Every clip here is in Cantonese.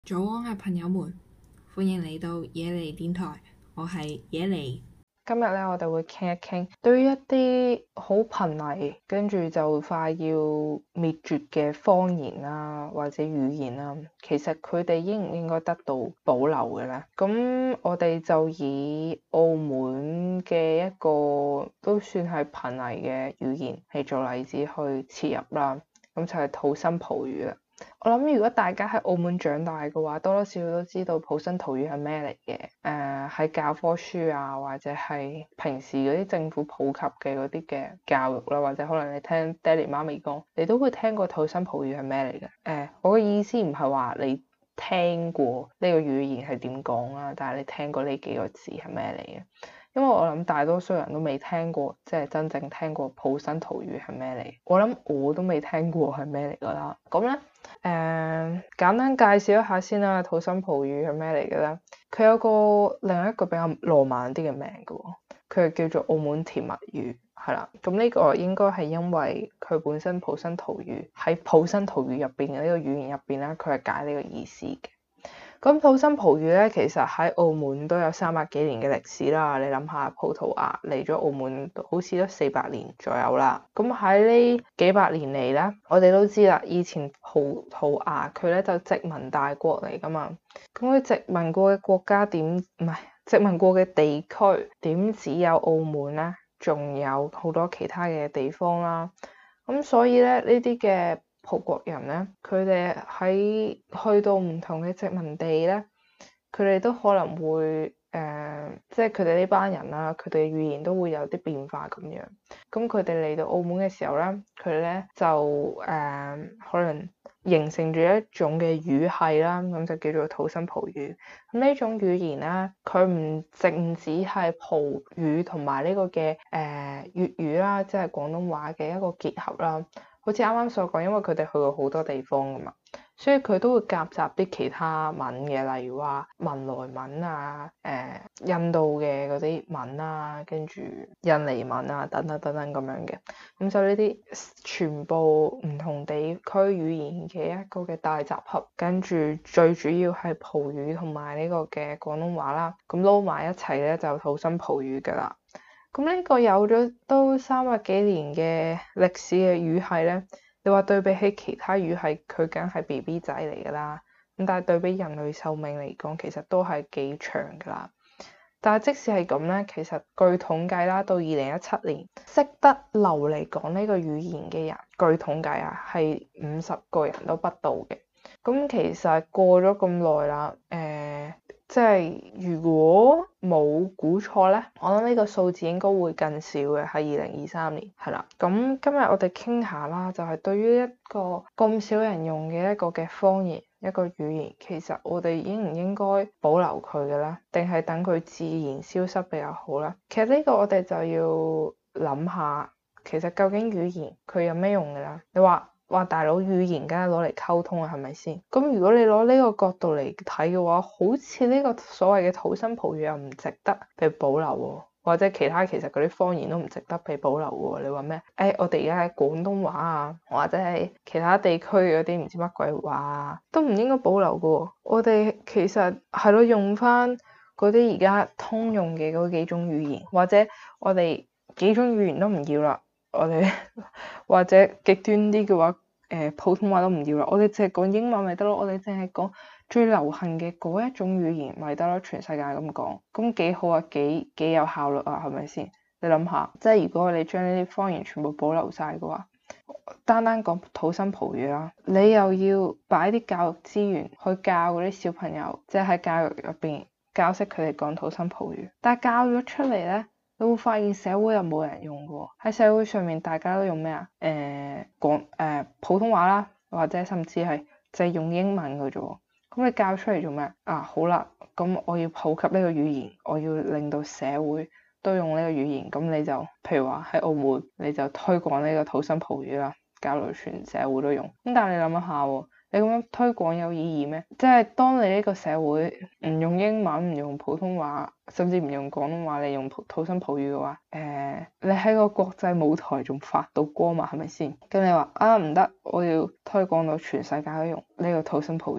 早安啊，朋友們，歡迎嚟到野梨電台，我係野梨。 今日咧，我哋會傾一傾對於一啲好瀕危跟住就快要滅絕嘅方言啦，或者語言啦，其實佢哋應唔應該得到保留嘅咧？咁我哋就以澳門嘅一個都算係瀕危嘅語言嚟做例子去切入啦。咁就係土生葡語啦。我諗如果大家喺澳門長大嘅話，多多少少都知道土生葡語係咩嚟嘅。喺教科書啊，或者係平時嗰啲政府普及嘅嗰啲嘅教育啦，或者可能你聽爹哋媽咪講，你都會聽過土生葡語係咩嚟嘅。我嘅意思唔係話你聽過呢個語言係點講啦，但係你聽過呢幾個字係咩嚟嘅？因為我諗大多數人都未聽過，即係真正聽過土生葡語係咩嚟。我諗我都未聽過係咩嚟噶啦。咁咧，簡單介紹一下先啦。土生葡語係咩嚟嘅咧？佢有個另一個比較浪漫啲嘅名嘅，佢係叫做澳門甜蜜語，係啦。咁呢個應該係因為佢本身土生葡語喺土生葡語入邊嘅呢個語言入邊咧，佢係解呢個意思嘅。咁土生葡語咧，其實喺澳門都有300幾年嘅歷史啦。你諗下，葡萄牙嚟咗澳門好似都400年左右啦。咁喺呢幾百年嚟咧，我哋都知啦，以前葡萄牙佢咧就殖民大國嚟噶嘛。咁佢殖民過嘅國家殖民過嘅地區點只有澳門咧？仲有好多其他嘅地方啦。咁所以咧，呢啲嘅葡國人咧，佢哋喺去到唔同嘅殖民地咧，佢哋都可能會即係佢哋呢班人啦，佢哋嘅語言都會有啲變化咁樣。咁佢哋嚟到澳門嘅時候咧，佢哋咧就可能形成住一種嘅語系啦，咁就叫做土生葡語。咁呢種語言咧，佢唔淨止係葡語同埋呢個嘅粵語啦，即係廣東話嘅一個結合啦。好似啱啱所講，因為佢哋去過好多地方噶嘛，所以佢都會夾雜啲其他文嘅，例如話文萊文啊、印度嘅嗰啲文啊，跟住印尼文啊等等等等咁樣嘅。咁就呢啲全部唔同地區語言嘅一個嘅大集合，跟住最主要係葡語同埋呢個嘅廣東話啦，咁撈埋一齊咧就土生葡語噶啦。咁呢個有咗都300幾年嘅歷史嘅語系咧，你話對比起其他語系，佢梗係 BB 仔嚟噶啦。咁但係對比人類壽命嚟講，其實都係幾長噶啦。但係即使係咁咧，其實據統計啦，到2017年識得流利講呢個語言嘅人，據統計啊係50個人都不到嘅。咁其實過咗咁耐啦，即係如果冇估錯咧，我諗呢個數字應該會更少嘅，係2023年，係啦。咁今日我哋傾下啦，就係對於一個咁少人用嘅一個嘅方言，一個語言，其實我哋應唔應該保留佢嘅咧？定係等佢自然消失比較好咧？其實呢個我哋就要諗下，其實究竟語言佢有咩用嘅咧？你話大佬，語言梗係攞嚟溝通啊，係咪先？咁如果你攞呢個角度嚟睇嘅話，好似呢個所謂嘅土生葡語又唔值得被保留喎，或者其他其實嗰啲方言都唔值得被保留喎。你話咩？我哋而家喺廣東話啊，或者係其他地區嗰啲唔知乜鬼話啊，都唔應該保留嘅喎。我哋其實係咯，用翻嗰啲而家通用嘅嗰幾種語言，或者我哋幾種語言都唔要啦。我哋或者極端啲嘅話，普通話都唔要啦，我哋淨係講英文咪得咯，我哋淨係講最流行嘅嗰一種語言咪得咯，全世界咁講，咁幾好啊，幾有效率啊，係咪先？你諗下，即係如果我哋將呢啲方言全部保留晒嘅話，單講土生葡語啦，你又要擺啲教育資源去教嗰啲小朋友，即係喺教育入邊教識佢哋講土生葡語，但係教咗出嚟咧，你會發現社會又冇人用嘅喎，喺社會上面大家都用咩啊？普通話啦，或者甚至係就係用英文嘅啫喎。咁你教出嚟做咩啊？好啦，咁我要普及呢個語言，我要令到社會都用呢個語言。咁你就譬如話喺澳門，你就推廣呢個土生葡語啦，教到全社會都用。咁但係你諗一下喎。你咁樣推廣有意義咩？即係當你呢個社會唔用英文、唔用普通話，甚至唔用廣東話，你用土生葡語嘅話，你喺個國際舞台仲發到光嘛？係咪先？咁你話啊唔得，我要推廣到全世界都用呢個土生葡語，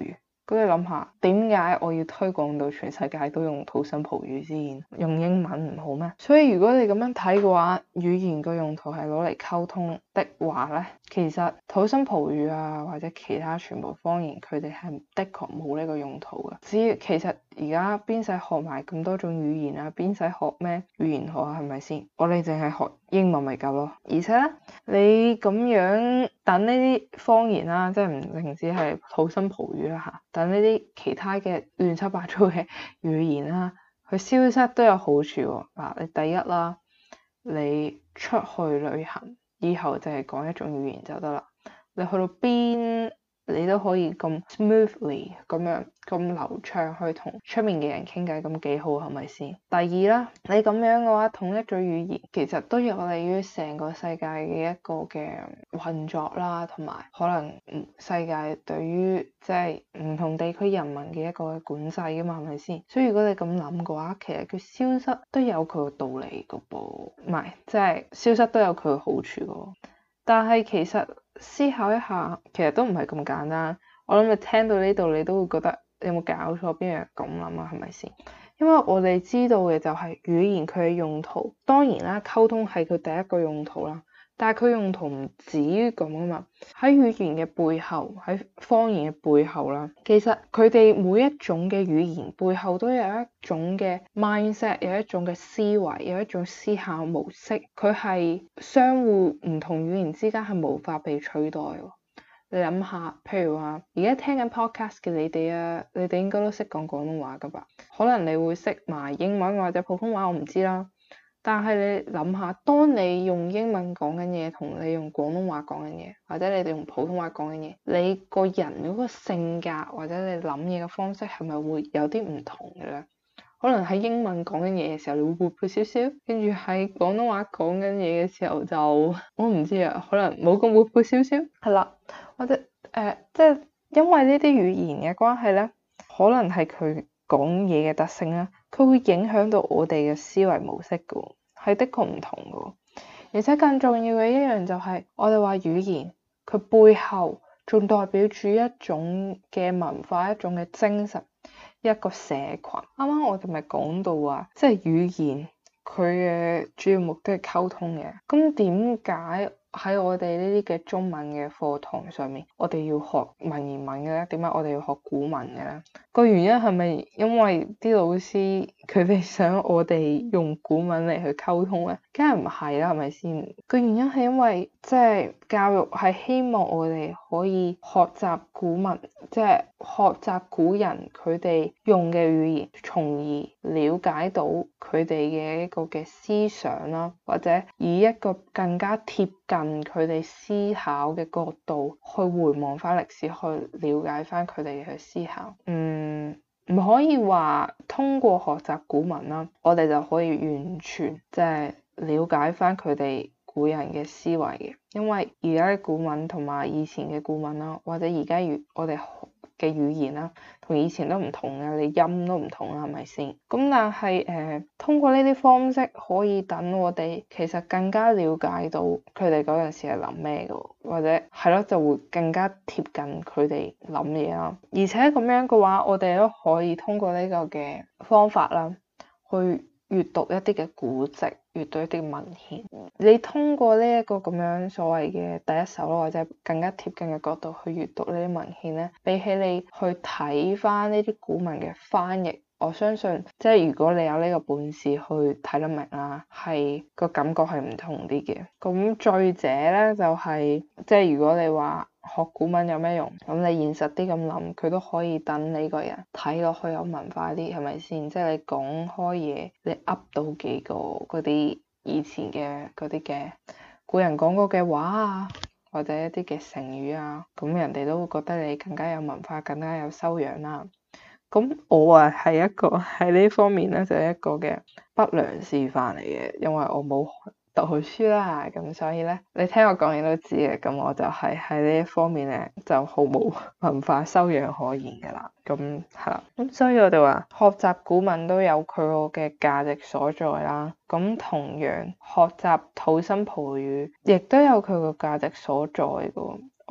咁你諗下，點解我要推廣到全世界都用土生葡語先？用英文唔好咩？所以如果你咁樣睇嘅話，語言個用途係攞嚟溝通的話咧，其實土生葡語啊或者其他全部方言，佢哋係的確冇呢個用途嘅。只要其實而家邊使學埋咁多種語言啊？邊使學咩語言學啊？係咪先？我哋淨係學英文咪夠咯。而且咧，你咁樣等呢啲方言啦，即係唔淨止係土生葡語啦嚇，等呢啲其他嘅亂七八糟嘅語言啦，佢消失都有好處喎。嗱，你第一啦，你出去旅行以後就係講一種語言就得啦。你去到邊，你都可以咁 smoothly 咁樣咁流暢去同出面嘅人傾偈，咁幾好係咪先？第二啦，你咁樣嘅話，統一咗語言，其實都有利於成個世界嘅一個嘅運作啦，同埋可能世界對於即係唔同地區人民嘅一個管制噶嘛，係咪先？所以如果你咁諗嘅話，其實佢消失都有佢個道理噶噃，唔係即係消失都有佢嘅好處噶。但係其實思考一下，其實都唔係咁簡單。我諗你聽到呢度，你都會覺得有冇搞錯？邊有人咁諗啊？係咪先？因為我哋知道嘅就係語言佢嘅用途，當然啦，溝通係佢第一個用途啦。但係佢用途唔止於咁啊嘛，喺語言嘅背後，喺方言嘅背後啦，其實佢哋每一種嘅語言背後都有一種嘅 mindset， 有一種嘅思維，有一種思考模式，佢係相互唔同語言之間係無法被取代喎。你諗下，譬如話而家聽緊 podcast 嘅你哋啊，你哋應該都識講廣東話噶吧？可能你會識埋英文或者普通話，我唔知啦。但係你諗下，當你用英文講緊嘢，同你用廣東話講緊嘢，或者你哋用普通話講緊嘢，你個人嗰個性格或者你諗嘢嘅方式係咪會有啲唔同嘅咧？可能喺英文講緊嘢嘅時候，你會活潑少少，跟住喺廣東話講緊嘢嘅時候就我唔知啊，可能冇咁活潑少少，係啦，或者即係因為呢啲語言嘅關係咧，可能係佢講嘢嘅特性啦。佢會影響到我哋嘅思維模式㗎，係的確唔同㗎。而且更重要嘅一樣就係，我哋話語言佢背後仲代表住一種嘅文化，一種嘅精神，一個社群。啱啱我哋咪講到話，即係語言佢嘅主要目的係溝通嘅。咁點解喺我哋呢啲嘅中文嘅課堂上面，我哋要學文言文嘅咧？點解我哋要學古文嘅咧？個原因係咪因為啲老師佢哋想我哋用古文嚟去溝通咧？梗係唔係啦，係咪先？個原因係因為即係教育係希望我哋可以學習古文，即係學習古人佢哋用嘅語言，從而了解到佢哋嘅一個嘅思想啦，或者以一個更加貼近佢哋思考嘅角度去回望翻歷史，去了解翻佢哋嘅思考。唔可以話通過學習古文啦，我哋就可以完全即係了解翻佢哋古人嘅思維嘅，因為而家嘅古文同埋以前嘅古文啦，或者而家我哋嘅語言啦，同以前都唔同嘅，你音都唔同啦，係咪先？咁但係通過呢啲方式可以等我哋其實更加了解到佢哋嗰陣時係諗咩嘅，或者係咯，就會更加貼近佢哋諗嘢啦。而且咁樣嘅話，我哋都可以通過呢個嘅方法啦，去閱讀一啲嘅古籍，閱讀一啲文獻。你通過呢一個咁樣所謂嘅第一手咯，或者更加貼近嘅角度去閱讀呢啲文獻咧，比起你去睇翻呢啲古文嘅翻譯，我相信即係如果你有呢個本事去睇得明啦，係個感覺係唔同啲嘅。咁再者咧就係即係如果你話學古文有咩用？咁你現實啲咁諗，佢都可以等你個人睇落去有文化啲，係咪先？即係你講開嘢，你噏到幾個嗰啲以前嘅嗰啲嘅古人講過嘅話啊，或者一啲嘅成語啊，咁人哋都會覺得你更加有文化，更加有修養啦。咁我啊係一個喺呢方面咧就係一個嘅不良示範嚟嘅，因為我冇讀好書啦，咁所以咧你聽我講嘢都知嘅，咁我就係喺呢一方面咧就毫無文化修養可言嘅啦。咁係啦，咁所以我哋話學習古文都有佢個嘅價值所在啦。咁同樣學習土生葡語亦都有佢個價值所在嘅。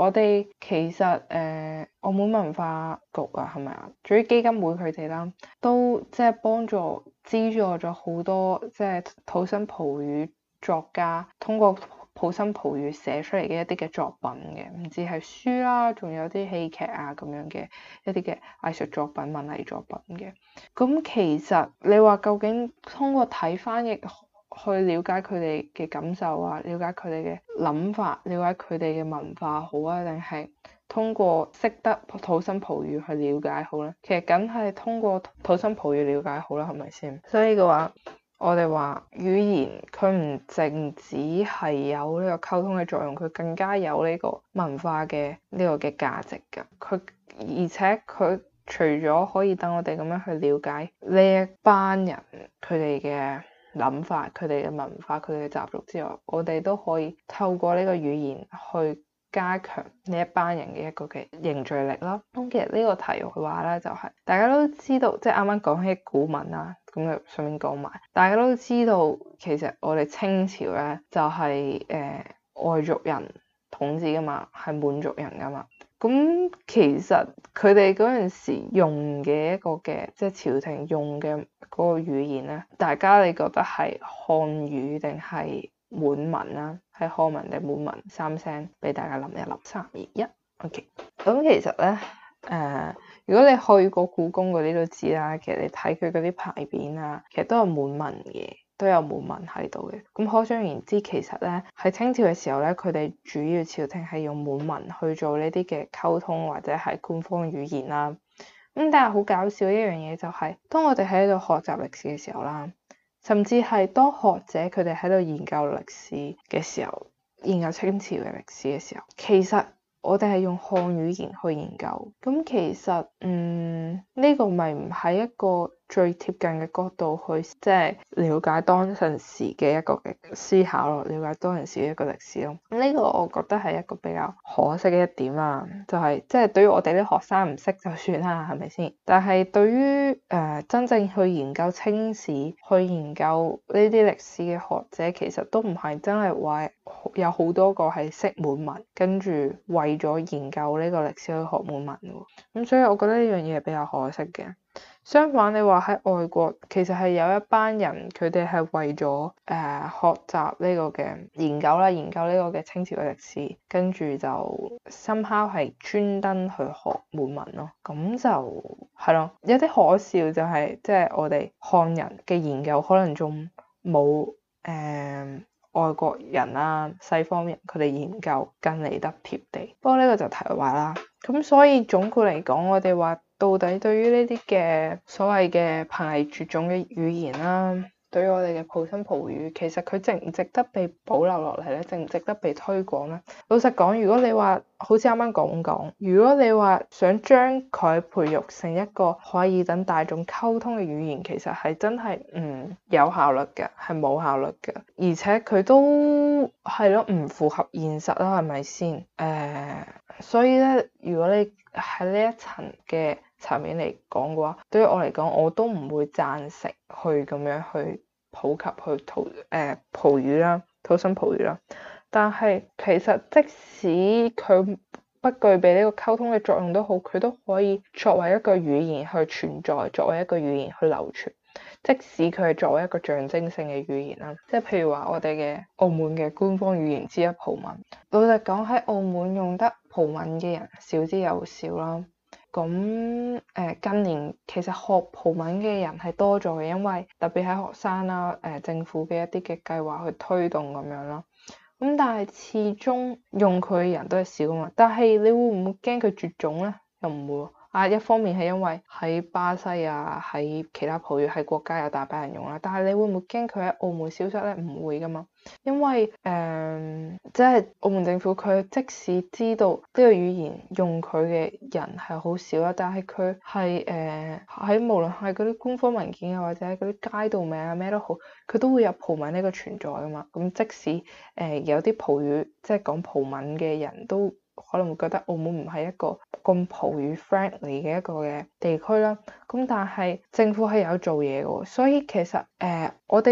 我哋其實澳門文化局啊，係咪啊？至於基金會佢哋啦，都即係幫助資助咗好多即係土生葡語作家通過土生葡語寫出嚟嘅一啲嘅作品嘅，唔止係書啦，仲有啲戲劇啊咁樣嘅一啲嘅藝術作品、文藝作品嘅。咁其實你話究竟通過睇翻譯去了解佢哋嘅感受啊，了解佢哋嘅諗法，了解佢哋嘅文化好啊，定係通過識得土生葡語去了解好咧？其實梗係通過土生葡語了解好啦，係咪先？所以嘅話，我哋話語言佢唔淨止係有呢個溝通嘅作用，佢更加有呢個文化嘅呢個嘅價值㗎。而且佢除咗可以等我哋咁樣去了解呢一班人佢哋嘅諗法、佢哋嘅文化、佢哋嘅習俗之外，我哋都可以透過呢個語言去加強呢一班人嘅一個嘅凝聚力啦。咁其實呢個題外話咧，就係大家都知道，即係啱啱講起古文啦，咁就順便講埋，大家都知道其實我哋清朝咧就係外族人統治噶嘛，係滿族人噶嘛。咁其實佢哋嗰陣時用嘅一個嘅即係朝廷用嘅嗰個語言咧，大家你覺得係漢語定係滿文啦？係漢文定滿文？3聲俾大家諗一諗，3、2、1。OK。咁其實咧，如果你去過故宮嗰啲都知啦，其實你睇佢嗰啲牌匾啊，其實都係滿文嘅。都有滿文喺度嘅，咁可想而知，其實咧喺清朝嘅時候咧，佢哋主要朝廷係用滿文去做呢啲嘅溝通或者係官方語言啦。咁但係好搞笑一樣嘢就係，當我哋喺度學習歷史嘅時候啦，甚至係當學者佢哋喺度研究歷史嘅時候，研究清朝嘅歷史嘅時候，其實我哋係用漢語言去研究。咁其實呢個咪唔係一個最貼近嘅角度去即係了解當陣時嘅一個嘅思考咯，了解當陣時嘅一個歷史咯。呢個我覺得係一個比較可惜嘅一點啦，就係即係對於我哋啲學生唔識就算啦，係咪先？但係對於真正去研究清史、去研究呢啲歷史嘅學者，其實都唔係真係話有好多個係識滿文，跟住為咗研究呢個歷史去學滿文嘅。咁所以我覺得呢樣嘢係比較可惜嘅。相反，你話喺外國，其實係有一班人，佢哋係為咗學習呢個嘅研究啦，研究呢個嘅清朝嘅歷史，跟住就somehow係專登去學滿文咯。咁就係咯，有啲可笑就係即係我哋漢人嘅研究可能仲冇外國人啦、西方人佢哋研究更嚟得貼地。不過呢個就題外話啦。咁所以總括嚟講，我哋話到底對於呢啲嘅所謂嘅瀕危絕種嘅語言啦，對於我哋嘅土生葡語，其實佢值唔值得被保留落嚟咧？值唔值得被推廣咧？老實講，如果你話好似啱啱講，如果你話想將佢培育成一個可以等大眾溝通嘅語言，其實係真係唔有效率嘅，係冇效率嘅，而且佢都係咯，唔符合現實啦，係咪先？所以咧，如果你喺呢一層嘅層面嚟講嘅話，對於我嚟講，我都唔會贊成去咁樣去普及去葡語啦，土生葡語啦。但係其實即使佢不具備呢個溝通嘅作用都好，佢都可以作為一個語言去存在，作為一個語言去流傳。即使佢係作為一個象徵性嘅語言啦，即係譬如話我哋嘅澳門嘅官方語言之一葡文。老實講，喺澳門用得葡文嘅人少之又少啦。咁近年其實學葡文嘅人係多咗嘅，因為特別係學生啦，政府嘅一啲嘅計劃去推動咁樣啦。咁但係始終用佢嘅人都係少啊嘛。但係你會唔會驚佢絕種咧？又唔會啊。一方面係因為喺巴西啊，喺其他葡語系國家有大把人用啦。但係你會唔會驚佢喺澳門消失咧？唔會噶嘛。因為即係澳門政府佢即使知道呢個語言用佢嘅人係好少啦，但係佢係喺無論係嗰啲官方文件啊，或者嗰啲街道名啊咩都好，佢都會有葡文呢個存在噶嘛。咁即使有啲葡語即係講葡文嘅人都可能會覺得澳門唔係一個咁葡語 friendly 嘅一個嘅地區啦。咁但係政府係有做嘢嘅，所以其實我哋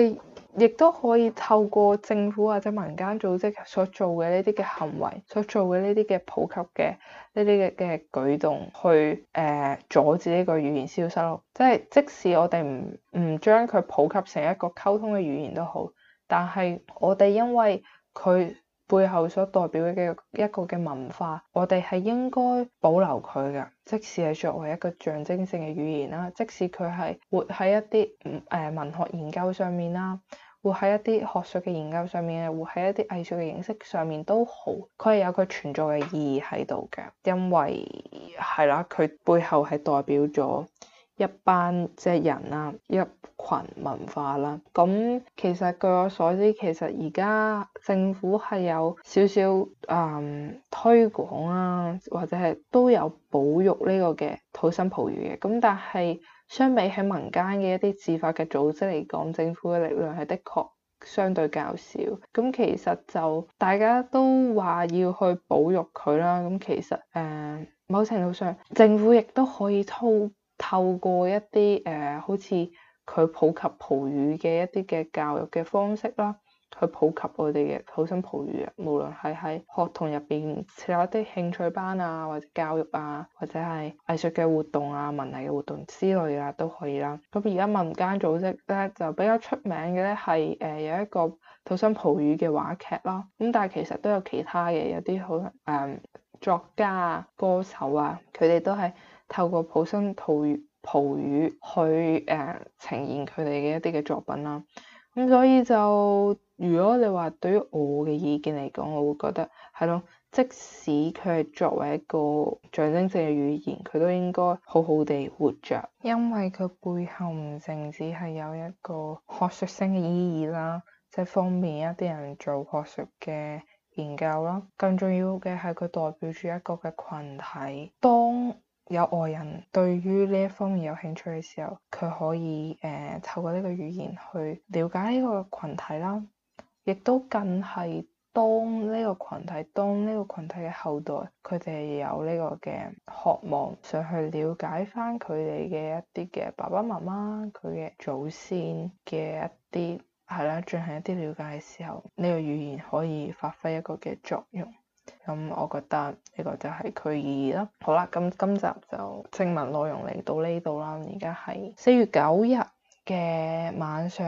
亦都可以透過政府或者民間組織所做嘅呢啲嘅行為，所做嘅呢啲嘅普及嘅呢啲嘅舉動，去阻止呢個語言消失咯。即係即使我哋唔將佢普及成一個溝通嘅語言都好，但係我哋因為佢背後所代表嘅一個嘅文化，我哋係應該保留佢嘅，即使係作為一個象徵性嘅語言啦，即使佢係活喺一啲文學研究上面啦，活喺一啲學術嘅研究上面，活喺一啲藝術嘅形式上面都好，佢係有佢存在嘅意義喺度嘅，因為係啦，佢背後係代表咗一班即係人啦，一群文化啦。咁其實據我所知，其實而家政府係有少少推廣啦，或者係都有保育呢個嘅土生葡語嘅。咁但係相比起民間嘅一啲自發嘅組織嚟講，政府嘅力量係的確相對較少。咁其實就大家都話要去保育佢啦。咁其實某程度上，政府亦都可以透過一啲好似佢普及葡語嘅一啲嘅教育嘅方式啦，去普及我哋嘅土生葡語啊。無論係喺學童入邊設立一啲興趣班啊，或者教育啊，或者係藝術嘅活動啊、文藝嘅活動之類啊，都可以啦。咁而家民間組織咧就比較出名嘅咧係有一個土生葡語嘅話劇啦。咁但係其實都有其他嘅，有啲可能作家啊、歌手啊，佢哋都係透過土生葡語去呈現佢哋嘅一啲嘅作品啦。咁所以就如果你話對於我嘅意見嚟講，我會覺得係咯，即使佢係作為一個象徵性嘅語言，佢都應該好好地活着，因為佢背後唔淨止係有一個學術性嘅意義啦，即係方便一啲人做學術嘅研究啦，更重要嘅係佢代表住一個嘅群體。當有外人對於呢一方面有興趣嘅時候，佢可以透過呢個語言去了解呢個群體啦，亦都更係當呢個群體嘅後代，佢哋有呢個嘅渴望想去了解翻佢哋嘅一啲嘅爸爸媽媽，佢嘅祖先嘅一啲係啦，進行一啲了解嘅時候，呢個語言可以發揮一個嘅作用。咁我覺得呢個就係佢意義啦。好啦，咁今集就正文內容嚟到呢度啦。而家係4月9日嘅晚上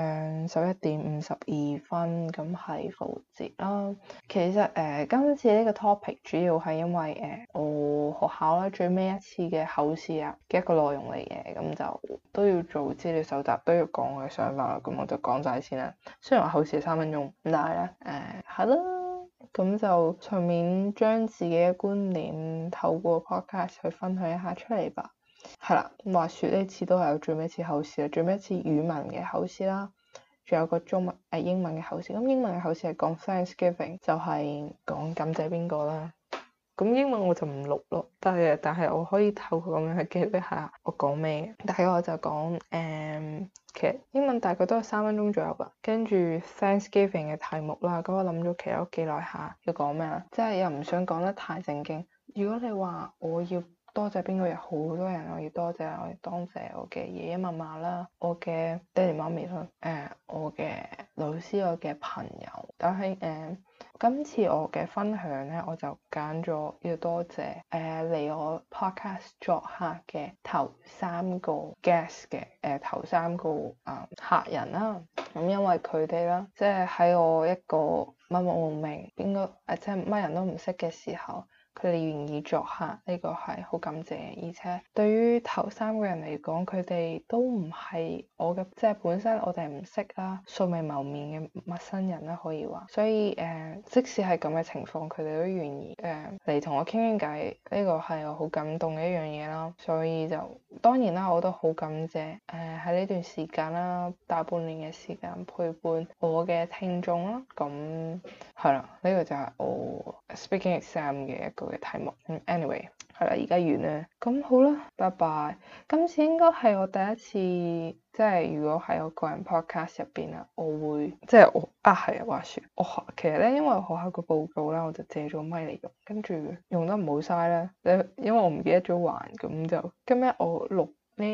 11:52，咁係復活節啦。其實今次呢個 topic 主要係因為我學校咧最尾一次嘅考試啊嘅一個內容嚟嘅，咁就都要做資料搜集，都要講我嘅想法啦。咁我就講晒先啦。雖然話考試係3分鐘，但係咧係啦。咁就順便將自己嘅觀念透過 podcast 去分享一下出嚟吧。係啦，話說呢次都係我最尾一次考試啦，最尾一次語文嘅考試啦，仲有個英文嘅考試。咁英文嘅考試係講 Thanksgiving，就係講感謝邊個啦。咁英文我就唔錄咯，但係我可以透過咁樣去記錄一下我講咩。大概我就講其實英文大概都係3分鐘左右吧。跟住 Thanksgiving 嘅題目啦，咁我諗咗其實都記耐下要講咩啦，即係又唔想講得太正經。如果你話我要多謝邊個，有好多人我要多謝，我要多謝我嘅爺爺嫲嫲啦，我嘅爹哋媽咪啦，我嘅老師，我嘅朋友。但係今次我嘅分享咧，我就揀咗要多謝嚟我 podcast 作客嘅頭3個 guest 嘅頭3個客人啦。咁因為佢哋啦，即係喺我一個默默無名，應該即係乜人都唔識嘅時候，佢哋願意作客，呢個係好感謝。而且對於頭3個人嚟講，佢哋都唔係我嘅，即係本身我哋唔識啦，素未謀面嘅陌生人啦，可以話。所以即使係咁嘅情況，佢哋都願意嚟同我傾傾偈，呢個係我好感動嘅一樣嘢啦。所以就當然啦，我都好感謝喺呢段時間啦，大半年嘅時間陪伴我嘅聽眾啦。咁係啦，呢個就係我 speaking exam 嘅一個嘅題目。Anyway， 係啦，而家完啦。咁好啦，拜拜。今次應該係我第一次，即係如果喺我個人 podcast 入邊啊，我會即係我係啊話説，其實咧，因為我學校個報告啦，我就借咗咪嚟用，跟住用得唔好嘥咧，因為我唔記得咗還，咁就今日我錄呢一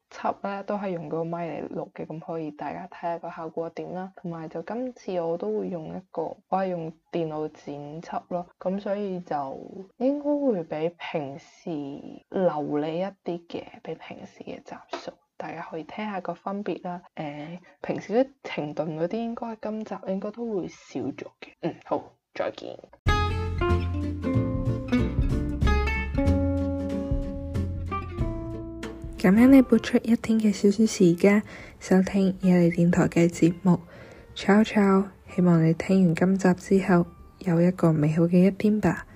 輯咧都係用個咪嚟錄嘅，咁可以大家睇下個效果點啦。同埋就今次我都會用我係用電腦剪輯咯，咁所以就應該會比平時流利一啲嘅，比平時嘅集數。大家可以聽下個分別啦。平時啲停頓嗰啲應該今集應該都會少咗嘅。好，再見。 感恩你撥出一天嘅少少時間收聽野梨電台嘅節目。Ciao ciao，希望你聽完今集之後有一個美好嘅一天吧。